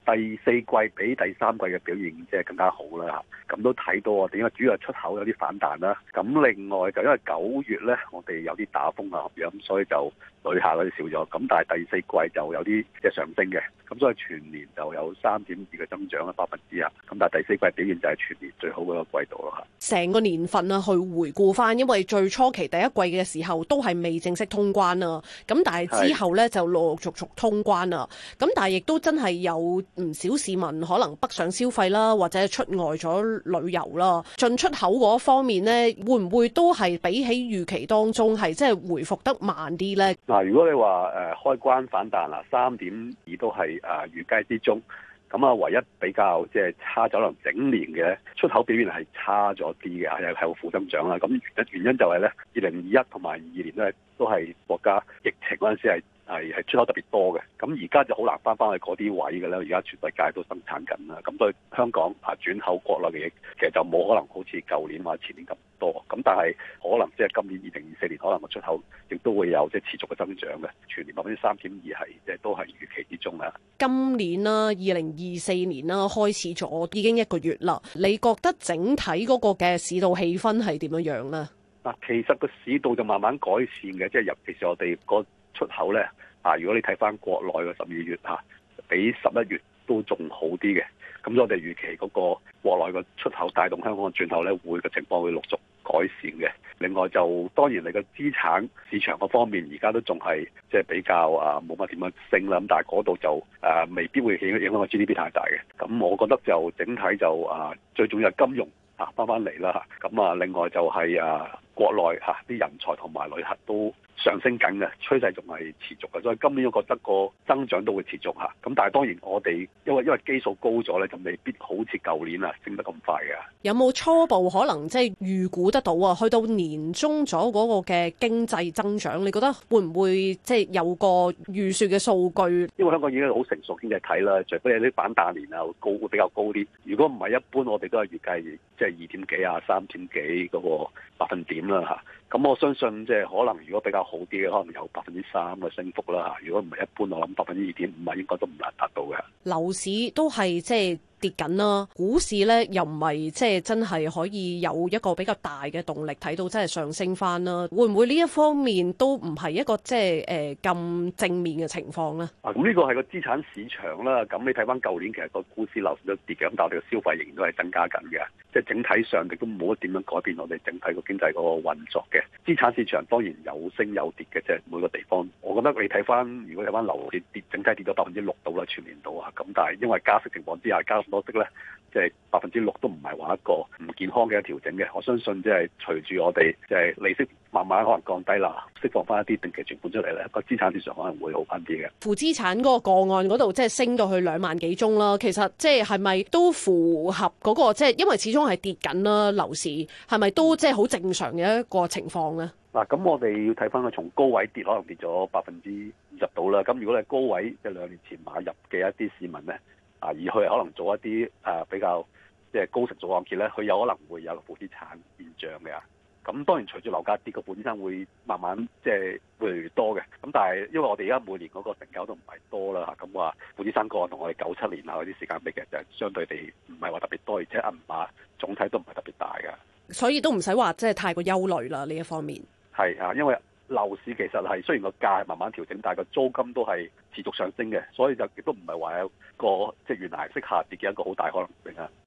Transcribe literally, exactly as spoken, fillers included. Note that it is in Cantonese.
第四季比第三季嘅表現即係更加好啦，咁都睇到我哋因為主要係出口有啲反彈啦。咁另外就因為九月咧，我哋有啲打風啊咁樣，所以就旅客嗰啲少咗。咁但係第四季就有啲即係上升嘅，咁所以全年就有三點二嘅增長啦，百分之啊。咁但係第四季表現就係全年最好嗰個季度咯嚇。 成個年份啊，去回顧翻，因為最初期第一季嘅時候都係未正式通關啊，咁但係之後咧就陸陸續續通關啊。咁但係亦都真係有唔少市民可能北上消費啦，或者出外咗旅遊啦，進出口嗰方面呢，會唔會都係比起預期當中係即係回復得慢啲呢？ 嗱，如果你話誒開關反彈啦，三點二都係誒預計之中。咁啊，唯一比較即係差咗，可能整年嘅出口表現係差咗啲嘅，係係個負增長啦。咁原因就係咧，二零二一同埋二二年咧都係國家疫情嗰陣時係係係出口特別多嘅。咁而家就好難翻翻去嗰啲位嘅咧。而家全世界都生產緊啦。咁對香港啊轉口國內嘅嘢，其實就冇可能好似舊年或者前年咁多。咁但係可能即係今年二零二四年，可能個出口亦都會有即係持續嘅增長嘅。全年百分之三點二係即係都係預期之中啦。 今年啦，二零二四年啦，開始咗已經一個月啦。你覺得整體嗰個嘅市道氣氛係點樣樣咧？ 嗱，其實個市道就慢慢改善嘅，即係尤其是我哋個出口咧啊。如果你睇翻國內嘅十二月嚇，比十一月都仲好啲嘅。咁我哋預期嗰個國內個出口帶動香港嘅轉口咧，會嘅情況會陸續改善嘅。另外就當然你個資產市場嗰方面，而家都仲係即係比較啊冇乜點樣升啦。咁但係嗰度就誒、啊、未必會影影響個 G D P 太大嘅。咁我覺得就整體就啊最重要係金融啊翻翻嚟啦。咁啊另外就係啊國內嚇啲人才同埋旅客都上升緊嘅趨勢仲係持續嘅，所以今年我覺得個增長都會持續嚇。咁但係當然我哋因為因為基數高咗咧，就未必好似舊年啊升得咁快嘅。有冇初步可能即係預估得到啊？去到年中咗嗰個嘅經濟增長，你覺得會唔會即係有個預算嘅數據？ 因為香港已經好成熟經濟體啦，除非有啲反彈年啊高會比較高啲。如果唔係一般，我哋都係預計即係二點幾啊、三點幾嗰個百分點啦嚇。咁我相信即係可能如果比較好啲嘅，可能有百分之三嘅升幅啦嚇。如果唔係一般，我諗百分之二點五啊，應該都唔難達到嘅。 樓市都係即係跌緊啦，股市咧又唔係即係真係可以有一個比較大嘅動力睇到真係上升翻啦。會唔會呢一方面都唔係一個即係誒咁正面嘅情況咧？ 啊，咁呢個係個資產市場啦。咁你睇翻舊年其實個股市樓市都跌嘅，咁但係我哋嘅消費仍然都係增加緊嘅。即係整體上亦都冇乜點樣改變我哋整體個經濟嗰個運作嘅。資產市場當然有升有跌嘅，即係每個地方。我覺得你睇翻，如果睇翻樓市跌，整體跌咗百分之六到啦，全年度啊。咁但係因為加息情況之下，加咁多息咧，即係百分之六都唔係話一個唔健康嘅調整嘅。我相信即係隨住我哋即係利息慢慢可能降低啦，釋放翻一啲定期存款出嚟咧，個資產市場可能會好翻啲嘅。 負資產嗰個個案嗰度即係升到去兩萬幾宗啦。其實即係係咪都符合嗰個即係因為始終係跌緊啦，樓市係咪都即係好正常嘅一個情況咧？ 嗱，咁我哋要睇翻佢從高位跌，可能跌咗百分之二十到啦。咁如果你係高位即係兩年前買入嘅一啲市民咧，啊，而佢可能做一啲誒比較即係高成數按揭咧，佢有可能會有個負資產現象嘅。咁當然隨住樓價跌，個負資產會慢慢即係會越嚟越多嘅。咁但係因為我哋而家每年嗰個成交都唔係多啦，咁話負資產個案同我哋九七年啊嗰啲時間比嘅就係相對地唔係話特別多，而且銀碼總體都唔係特別大嘅。 所以都唔使話即係太過憂慮啦呢一方面。 係啊，因為樓市其實係雖然個價係慢慢調整，但係個租金都係持續上升嘅，所以就亦都唔係話有個即係懸崖式下跌嘅一個好大可能性啊。